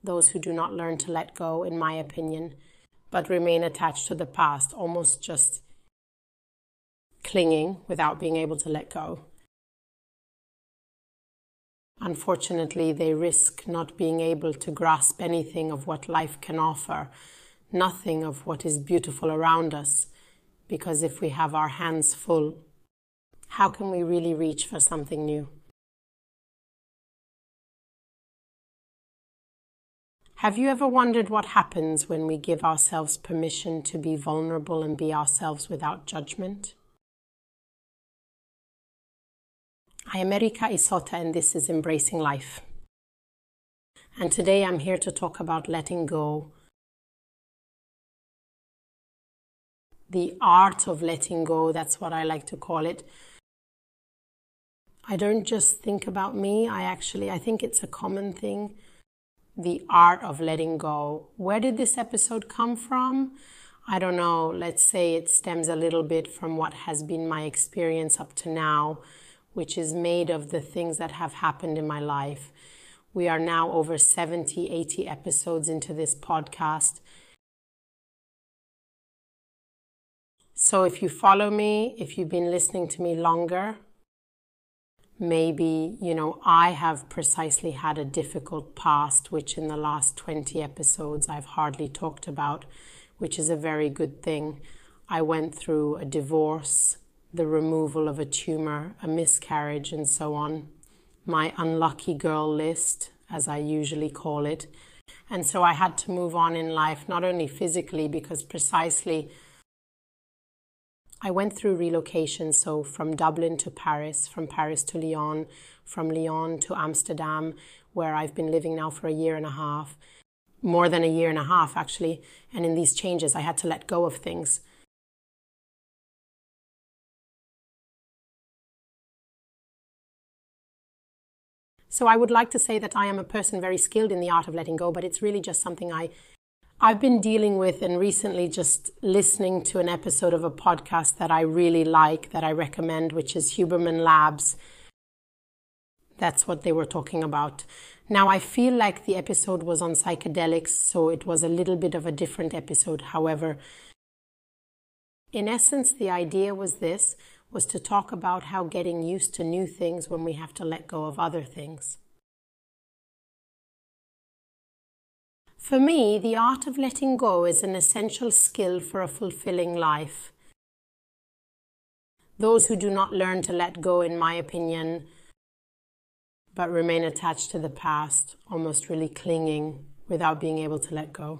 those who do not learn to let go, in my opinion, but remain attached to the past, almost just clinging without being able to let go. Unfortunately, they risk not being able to grasp anything of what life can offer, nothing of what is beautiful around us, because if we have our hands full, how can we really reach for something new? Have you ever wondered what happens when we give ourselves permission to be vulnerable and be ourselves without judgment? I am Erika Isota, and this is Embracing Life. And today I'm here to talk about letting go. The art of letting go, that's what I like to call it. I don't just think about me, I think it's a common thing. The art of letting go. Where did this episode come from? I don't know. Let's say it stems a little bit from what has been my experience up to now, which is made of the things that have happened in my life. We are now over 70, 80 episodes into this podcast. So if you follow me, if you've been listening to me longer, maybe, I have precisely had a difficult past, which in the last 20 episodes I've hardly talked about, which is a very good thing. I went through a divorce, the removal of a tumor, a miscarriage, and so on. My unlucky girl list, as I usually call it. And so I had to move on in life, not only physically, because precisely I went through relocation, so from Dublin to Paris, from Paris to Lyon, from Lyon to Amsterdam, where I've been living now for a year and a half, more than a year and a half actually. And in these changes, I had to let go of things. So I would like to say that I am a person very skilled in the art of letting go, but it's really just something I've been dealing with, and recently just listening to an episode of a podcast that I really like, that I recommend, which is Huberman Labs. That's what they were talking about. Now, I feel like the episode was on psychedelics, so it was a little bit of a different episode. However, in essence, the idea was to talk about how getting used to new things when we have to let go of other things. For me, the art of letting go is an essential skill for a fulfilling life. Those who do not learn to let go, in my opinion, but remain attached to the past, almost really clinging without being able to let go.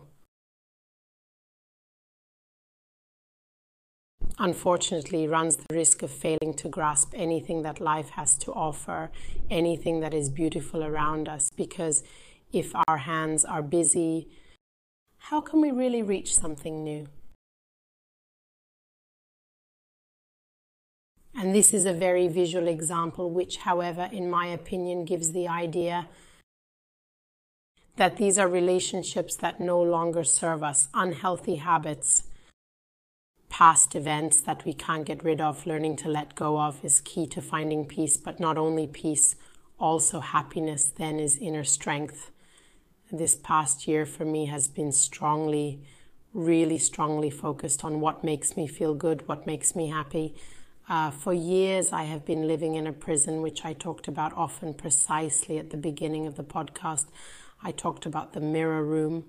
Unfortunately, runs the risk of failing to grasp anything that life has to offer, anything that is beautiful around us, because if our hands are busy, how can we really reach something new? And this is a very visual example, which, however, in my opinion, gives the idea that these are relationships that no longer serve us, unhealthy habits, past events that we can't get rid of. Learning to let go of is key to finding peace, but not only peace, also happiness then is inner strength. This past year for me has been really strongly focused on what makes me feel good, what makes me happy. For years, I have been living in a prison, which I talked about often precisely at the beginning of the podcast. I talked about the mirror room.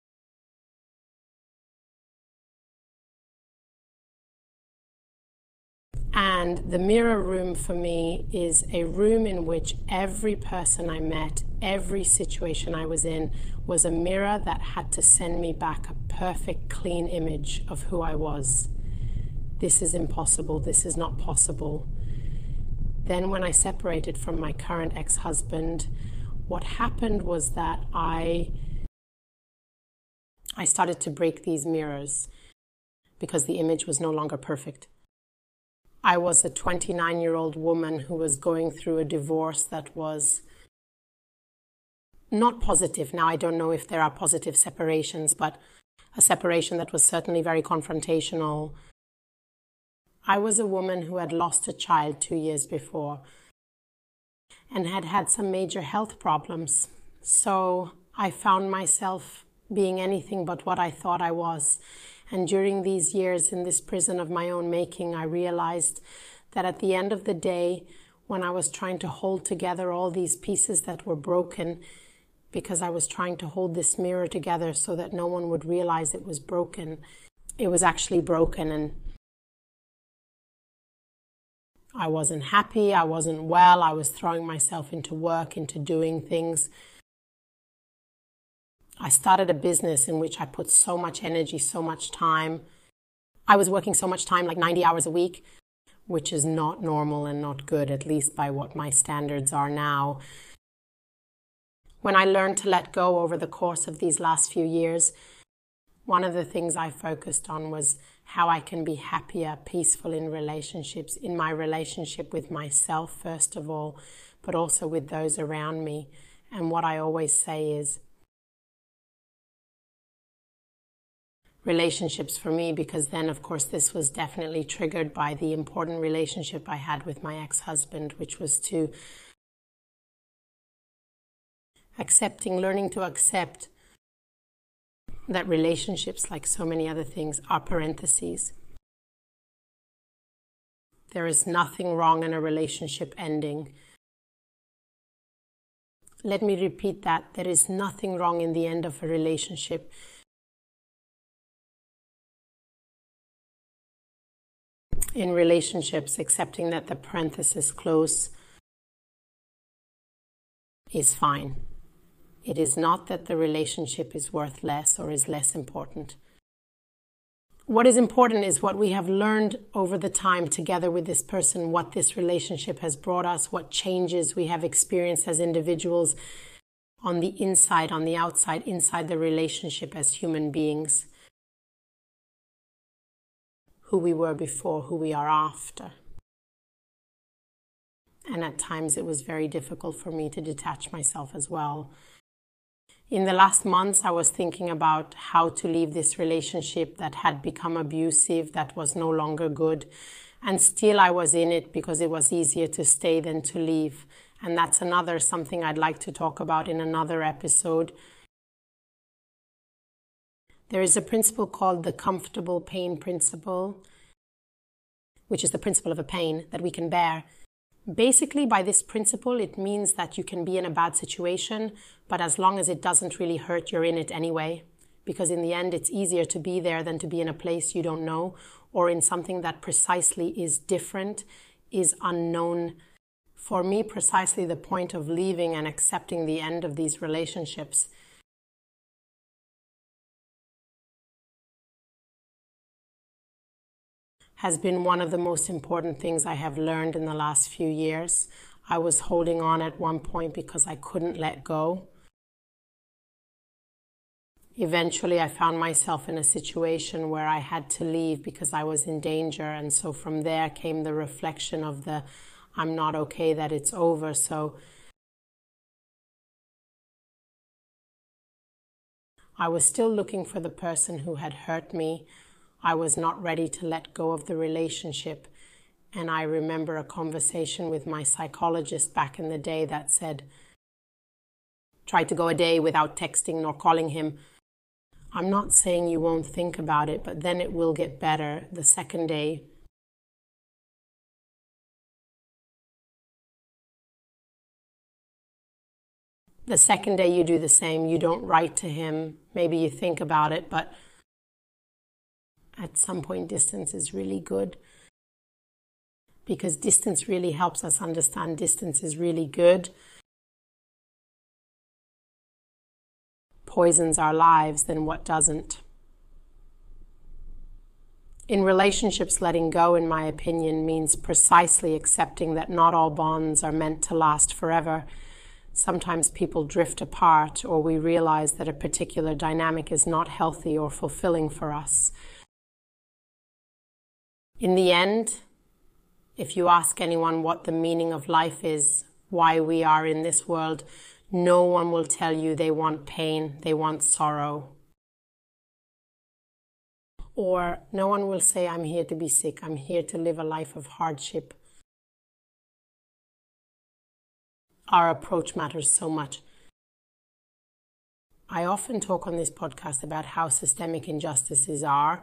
And the mirror room for me is a room in which every person I met, every situation I was in, was a mirror that had to send me back a perfect, clean image of who I was. This is impossible. This is not possible. Then when I separated from my current ex-husband, what happened was that I started to break these mirrors because the image was no longer perfect. I was a 29-year-old woman who was going through a divorce that was not positive. Now, I don't know if there are positive separations, but a separation that was certainly very confrontational. I was a woman who had lost a child 2 years before and had had some major health problems. So I found myself being anything but what I thought I was. And during these years in this prison of my own making, I realized that at the end of the day, when I was trying to hold together all these pieces that were broken, because I was trying to hold this mirror together so that no one would realize it was broken, it was actually broken, and I wasn't happy, I wasn't well, I was throwing myself into work, into doing things. I started a business in which I put so much energy, so much time. I was working so much time, like 90 hours a week, which is not normal and not good, at least by what my standards are now. When I learned to let go over the course of these last few years, one of the things I focused on was how I can be happier, peaceful in relationships, in my relationship with myself, first of all, but also with those around me. And what I always say is, relationships for me, because then, of course, this was definitely triggered by the important relationship I had with my ex-husband, which was to learning to accept that relationships, like so many other things, are parentheses. There is nothing wrong in a relationship ending. Let me repeat that. There is nothing wrong in the end of a relationship. In relationships, accepting that the parenthesis close is fine. It is not that the relationship is worth less or is less important. What is important is what we have learned over the time together with this person, what this relationship has brought us, what changes we have experienced as individuals on the inside, on the outside, inside the relationship as human beings. Who we were before, who we are after. And at times it was very difficult for me to detach myself as well. In the last months, I was thinking about how to leave this relationship that had become abusive, that was no longer good. And still I was in it because it was easier to stay than to leave. And that's something I'd like to talk about in another episode. There is a principle called the comfortable pain principle, which is the principle of a pain that we can bear. Basically, by this principle, it means that you can be in a bad situation, but as long as it doesn't really hurt, you're in it anyway. Because in the end, it's easier to be there than to be in a place you don't know, or in something that precisely is different, is unknown. For me, precisely the point of leaving and accepting the end of these relationships has been one of the most important things I have learned in the last few years. I was holding on at one point because I couldn't let go. Eventually, I found myself in a situation where I had to leave because I was in danger. And so from there came the reflection of the, I'm not okay that it's over. So I was still looking for the person who had hurt me. I was not ready to let go of the relationship. And I remember a conversation with my psychologist back in the day that said, try to go a day without texting nor calling him. I'm not saying you won't think about it, but then it will get better the second day. The second day you do the same. You don't write to him. Maybe you think about it, but at some point, distance is really good, because distance really helps us understand distance is really good. Poisons our lives, then what doesn't? In relationships, letting go, in my opinion, means precisely accepting that not all bonds are meant to last forever. Sometimes people drift apart, or we realize that a particular dynamic is not healthy or fulfilling for us. In the end, if you ask anyone what the meaning of life is, why we are in this world, no one will tell you they want pain, they want sorrow. Or no one will say, I'm here to be sick, I'm here to live a life of hardship. Our approach matters so much. I often talk on this podcast about how systemic injustices are.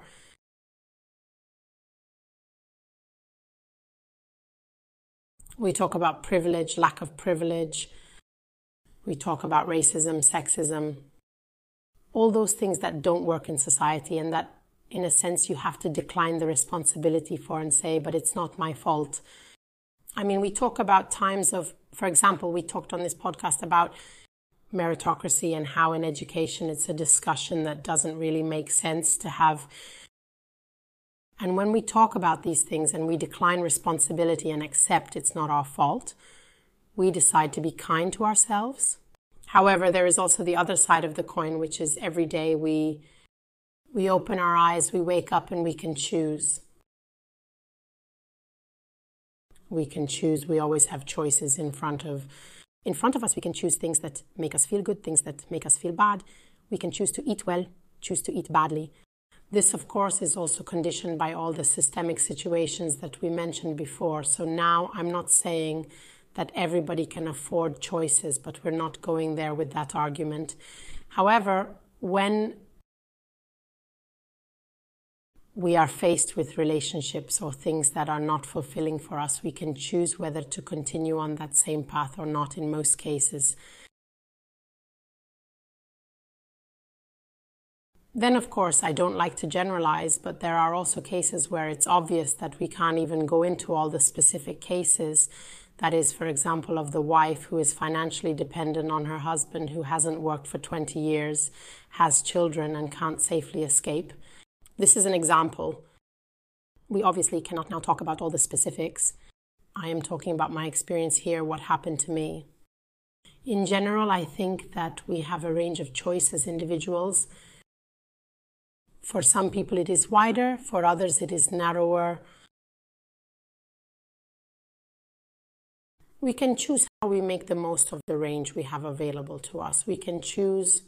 We talk about privilege, lack of privilege. We talk about racism, sexism, all those things that don't work in society and that, in a sense, you have to decline the responsibility for and say, but it's not my fault. I mean, we talk about times of, for example, we talked on this podcast about meritocracy and how in education it's a discussion that doesn't really make sense to have. And when we talk about these things and we decline responsibility and accept it's not our fault, we decide to be kind to ourselves. However, there is also the other side of the coin, which is every day we open our eyes, we wake up and we can choose. We can choose. We always have choices in front of us. We can choose things that make us feel good, things that make us feel bad. We can choose to eat well, choose to eat badly. This, of course, is also conditioned by all the systemic situations that we mentioned before. So now I'm not saying that everybody can afford choices, but we're not going there with that argument. However, when we are faced with relationships or things that are not fulfilling for us, we can choose whether to continue on that same path or not in most cases. Then, of course, I don't like to generalize, but there are also cases where it's obvious that we can't even go into all the specific cases. That is, for example, of the wife who is financially dependent on her husband, who hasn't worked for 20 years, has children and can't safely escape. This is an example. We obviously cannot now talk about all the specifics. I am talking about my experience here, what happened to me. In general, I think that we have a range of choice as individuals. For some people it is wider, for others it is narrower. We can choose how we make the most of the range we have available to us. We can choose,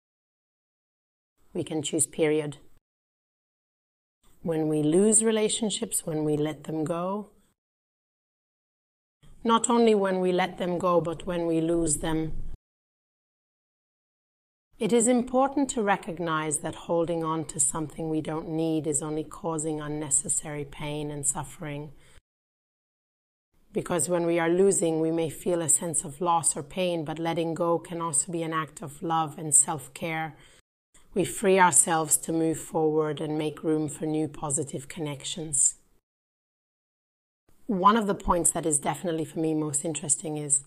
period. When we lose relationships, when we let them go, not only when we let them go, but when we lose them, it is important to recognize that holding on to something we don't need is only causing unnecessary pain and suffering. Because when we are losing, we may feel a sense of loss or pain, but letting go can also be an act of love and self-care. We free ourselves to move forward and make room for new positive connections. One of the points that is definitely for me most interesting is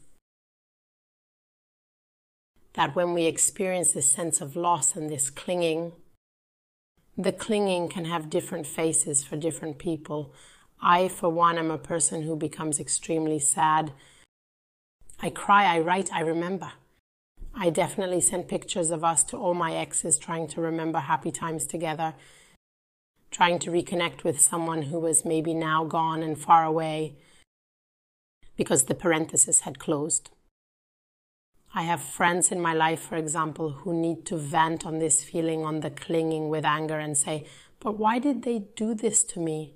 that when we experience this sense of loss and this clinging, the clinging can have different faces for different people. I, for one, am a person who becomes extremely sad. I cry, I write, I remember. I definitely send pictures of us to all my exes, trying to remember happy times together, trying to reconnect with someone who was maybe now gone and far away because the parenthesis had closed. I have friends in my life, for example, who need to vent on this feeling, on the clinging with anger and say, but why did they do this to me?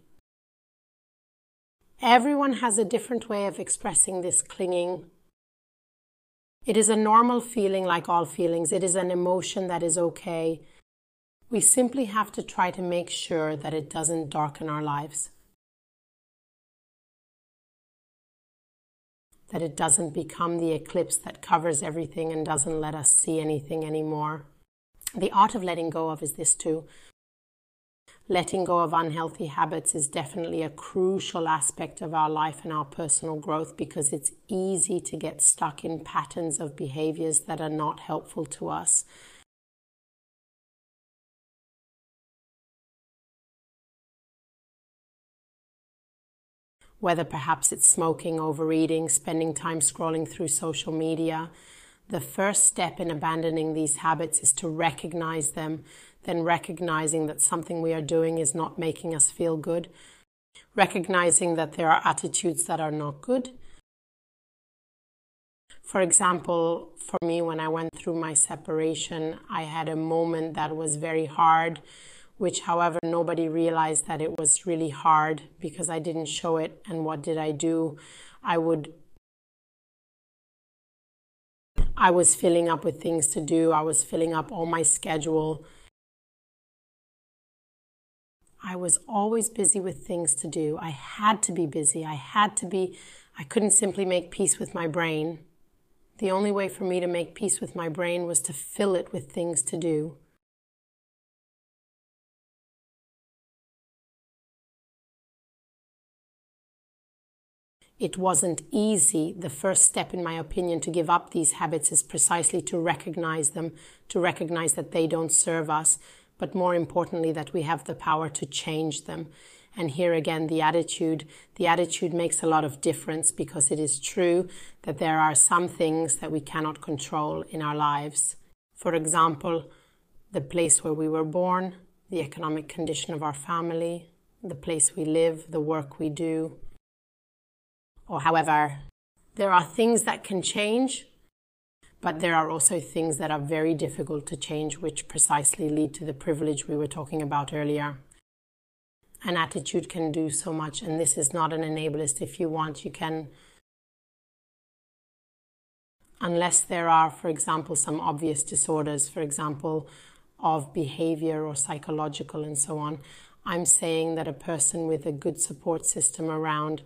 Everyone has a different way of expressing this clinging. It is a normal feeling like all feelings. It is an emotion that is okay. We simply have to try to make sure that it doesn't darken our lives. That it doesn't become the eclipse that covers everything and doesn't let us see anything anymore. The art of letting go of is this too. Letting go of unhealthy habits is definitely a crucial aspect of our life and our personal growth, because it's easy to get stuck in patterns of behaviors that are not helpful to us. Whether perhaps it's smoking, overeating, spending time scrolling through social media. The first step in abandoning these habits is to recognize them, then recognizing that something we are doing is not making us feel good, recognizing that there are attitudes that are not good. For example, for me, when I went through my separation, I had a moment that was very hard, which, however, nobody realized that it was really hard because I didn't show it. And what did I do? I would I was filling up with things to do. I was filling up all my schedule. I was always busy with things to do. I had to be busy. I couldn't simply make peace with my brain. The only way for me to make peace with my brain was to fill it with things to do. It wasn't easy. The first step, in my opinion, to give up these habits is precisely to recognize them, to recognize that they don't serve us, but more importantly, that we have the power to change them. And here again, the attitude makes a lot of difference, because it is true that there are some things that we cannot control in our lives. For example, the place where we were born, the economic condition of our family, the place we live, the work we do. Or however, there are things that can change, but there are also things that are very difficult to change, which precisely lead to the privilege we were talking about earlier. An attitude can do so much, and this is not an enablist. If you want, you can, unless there are, for example, some obvious disorders, for example, of behavior or psychological and so on, I'm saying that a person with a good support system around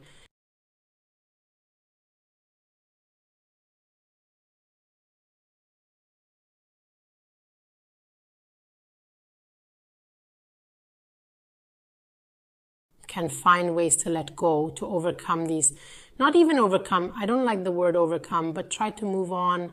can find ways to let go, to overcome these, not even overcome, I don't like the word overcome, but try to move on,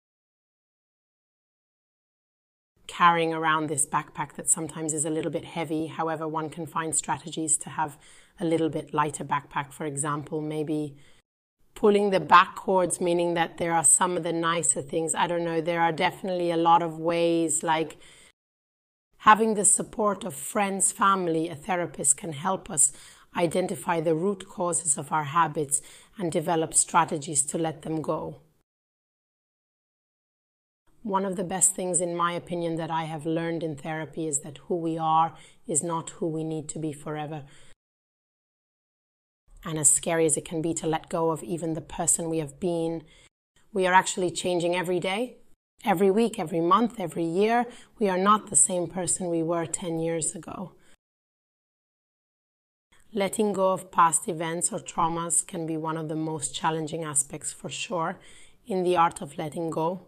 carrying around this backpack that sometimes is a little bit heavy. However, one can find strategies to have a little bit lighter backpack. For example, maybe pulling the back cords, meaning that there are some of the nicer things. I don't know, there are definitely a lot of ways, like having the support of friends, family, a therapist can help us identify the root causes of our habits and develop strategies to let them go. One of the best things, in my opinion, that I have learned in therapy is that who we are is not who we need to be forever. And as scary as it can be to let go of even the person we have been, we are actually changing every day. Every week, every month, every year, we are not the same person we were 10 years ago. Letting go of past events or traumas can be one of the most challenging aspects, for sure, in the art of letting go.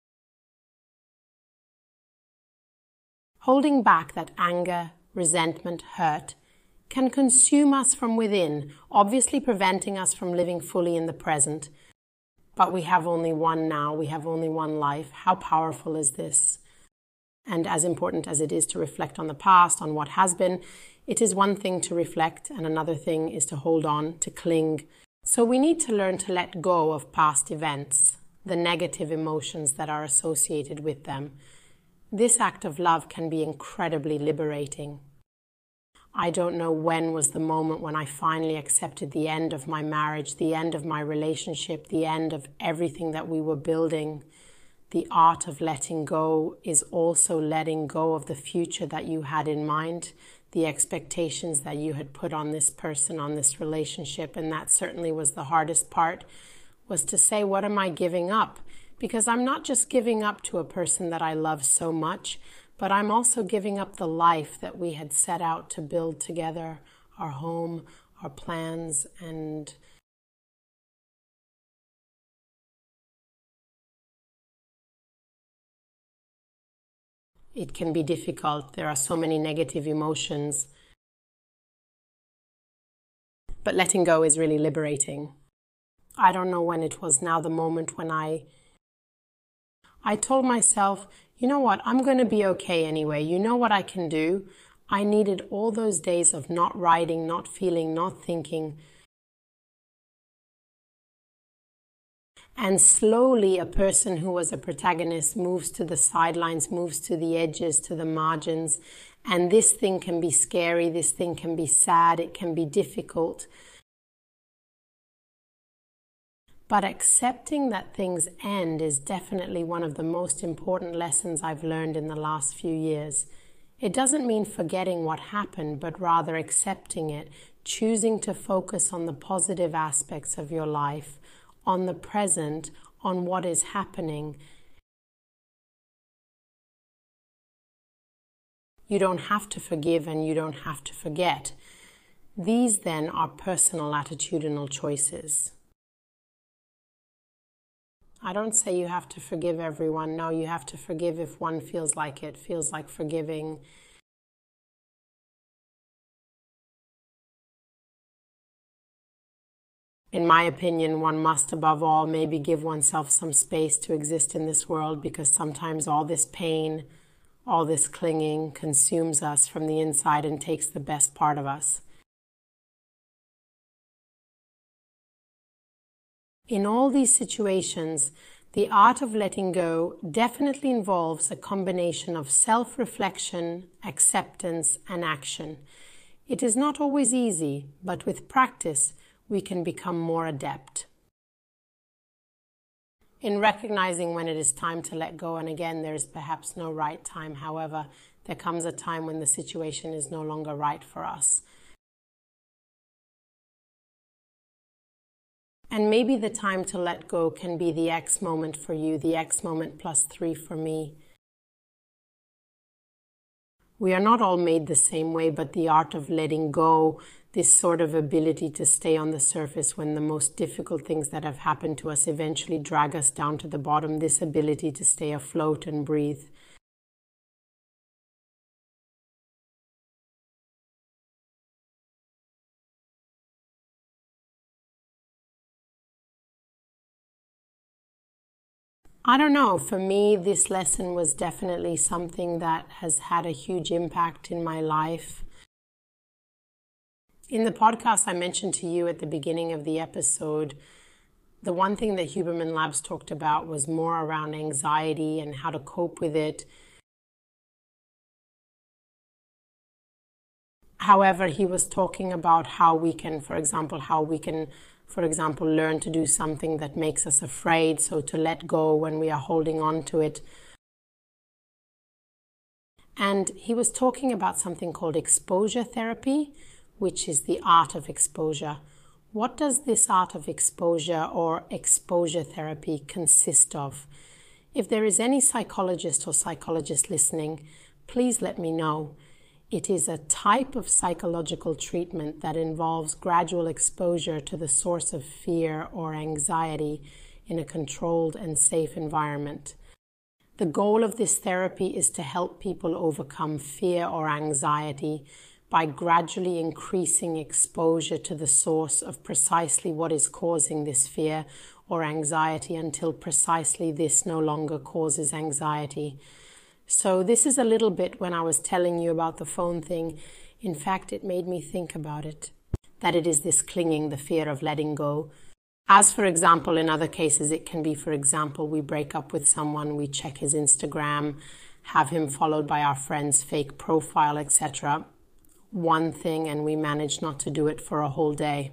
Holding back that anger, resentment, hurt can consume us from within, obviously preventing us from living fully in the present. But we have only one now, we have only one life. How powerful is this? And as important as it is to reflect on the past, on what has been, it is one thing to reflect and another thing is to hold on, to cling. So we need to learn to let go of past events, the negative emotions that are associated with them. This act of love can be incredibly liberating. I don't know when was the moment when I finally accepted the end of my marriage, the end of my relationship, the end of everything that we were building. The art of letting go is also letting go of the future that you had in mind, the expectations that you had put on this person, on this relationship. And that certainly was the hardest part, was to say, what am I giving up? Because I'm not just giving up to a person that I love so much, but I'm also giving up the life that we had set out to build together, our home, our plans, and it can be difficult. There are so many negative emotions. But letting go is really liberating. I don't know when it was now, the moment when I told myself, you know what, I'm going to be okay anyway. You know what I can do? I needed all those days of not writing, not feeling, not thinking. And slowly a person who was a protagonist moves to the sidelines, moves to the edges, to the margins. And this thing can be scary, this thing can be sad, it can be difficult. But accepting that things end is definitely one of the most important lessons I've learned in the last few years. It doesn't mean forgetting what happened, but rather accepting it, choosing to focus on the positive aspects of your life, on the present, on what is happening. You don't have to forgive and you don't have to forget. These then are personal attitudinal choices. I don't say you have to forgive everyone. No, you have to forgive if one feels like it, feels like forgiving. In my opinion, one must above all maybe give oneself some space to exist in this world, because sometimes all this pain, all this clinging consumes us from the inside and takes the best part of us. In all these situations, the art of letting go definitely involves a combination of self-reflection, acceptance, and action. It is not always easy, but with practice, we can become more adept in recognizing when it is time to let go. And again, there is perhaps no right time. However, there comes a time when the situation is no longer right for us. And maybe the time to let go can be the X moment for you, the X moment plus 3 for me. We are not all made the same way, but the art of letting go, this sort of ability to stay on the surface when the most difficult things that have happened to us eventually drag us down to the bottom, this ability to stay afloat and breathe. I don't know, for me, this lesson was definitely something that has had a huge impact in my life. In the podcast I mentioned to you at the beginning of the episode, the one thing that Huberman Labs talked about was more around anxiety and how to cope with it. However, he was talking about how we can, for example, learn to do something that makes us afraid, so to let go when we are holding on to it. And he was talking about something called exposure therapy, which is the art of exposure. What does this art of exposure or exposure therapy consist of? If there is any psychologist or psychologist listening, please let me know. It is a type of psychological treatment that involves gradual exposure to the source of fear or anxiety in a controlled and safe environment. The goal of this therapy is to help people overcome fear or anxiety by gradually increasing exposure to the source of precisely what is causing this fear or anxiety until precisely this no longer causes anxiety. So this is a little bit, when I was telling you about the phone thing, in fact, it made me think about it, that it is this clinging, the fear of letting go. As for example, in other cases, it can be, for example, we break up with someone, we check his Instagram, have him followed by our friend's fake profile, etc. One thing, and we manage not to do it for a whole day.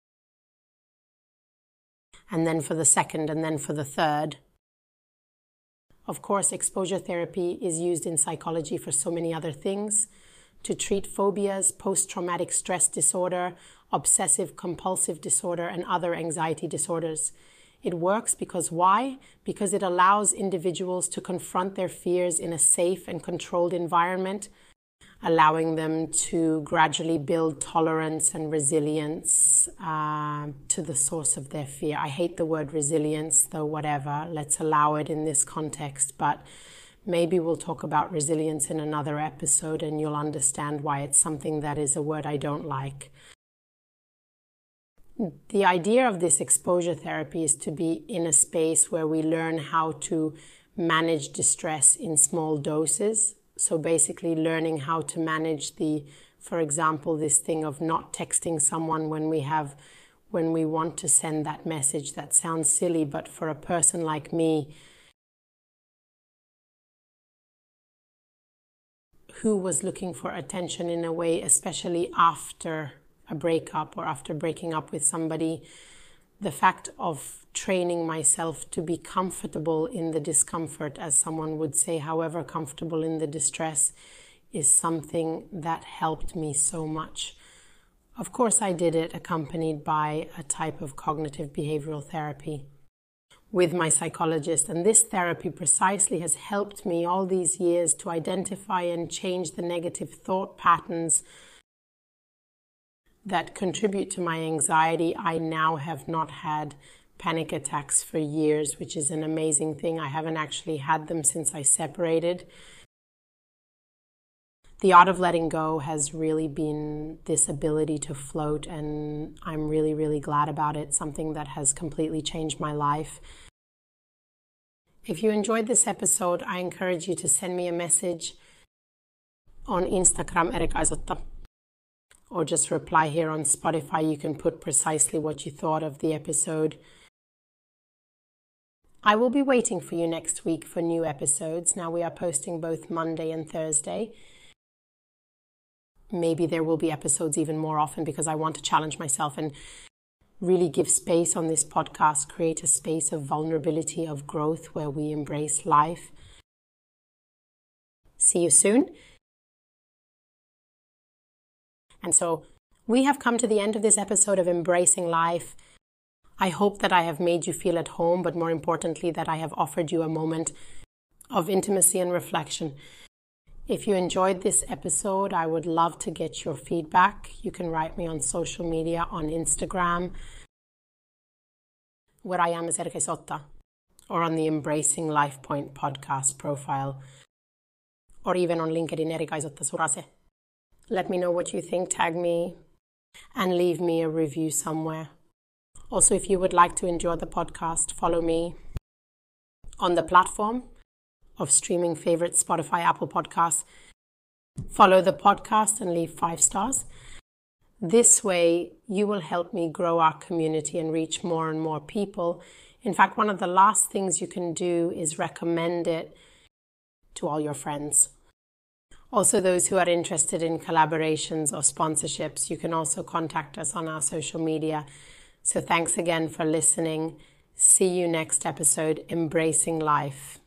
And then for the second, and then for the third. Of course, exposure therapy is used in psychology for so many other things, to treat phobias, post-traumatic stress disorder, obsessive-compulsive disorder, and other anxiety disorders. It works because why? Because it allows individuals to confront their fears in a safe and controlled environment, allowing them to gradually build tolerance and resilience to the source of their fear. I hate the word resilience, though whatever, let's allow it in this context. But maybe we'll talk about resilience in another episode and you'll understand why it's something that is a word I don't like. The idea of this exposure therapy is to be in a space where we learn how to manage distress in small doses. So basically learning how to manage for example, this thing of not texting someone when we want to send that message. That sounds silly, but for a person like me, who was looking for attention in a way, especially after a breakup or after breaking up with somebody, the fact of training myself to be comfortable in the discomfort, as someone would say, however comfortable in the distress, is something that helped me so much. Of course, I did it accompanied by a type of cognitive behavioral therapy. with my psychologist. And this therapy precisely has helped me all these years to identify and change the negative thought patterns that contribute to my anxiety. I now have not had panic attacks for years, which is an amazing thing. I haven't actually had them since I separated. The art of letting go has really been this ability to float, and I'm really, really glad about it. Something that has completely changed my life. If you enjoyed this episode, I encourage you to send me a message on Instagram, Erika Isotta, or just reply here on Spotify. You can put precisely what you thought of the episode. I will be waiting for you next week for new episodes. Now we are posting both Monday and Thursday. Maybe there will be episodes even more often because I want to challenge myself and really give space on this podcast, create a space of vulnerability, of growth where we embrace life. See you soon. And so we have come to the end of this episode of Embracing Life. I hope that I have made you feel at home, but more importantly, that I have offered you a moment of intimacy and reflection. If you enjoyed this episode, I would love to get your feedback. You can write me on social media, on Instagram, where I am as Erika Isotta, or on the Embracing Life Point podcast profile, or even on LinkedIn, Erika Isotta Surase. Let me know what you think, tag me, and leave me a review somewhere. Also, if you would like to enjoy the podcast, follow me on the platform of streaming favorites, Spotify, Apple Podcasts. Follow the podcast and leave 5 stars. This way, you will help me grow our community and reach more and more people. In fact, one of the last things you can do is recommend it to all your friends. Also, those who are interested in collaborations or sponsorships, you can also contact us on our social media. So thanks again for listening. See you next episode, Embracing Life.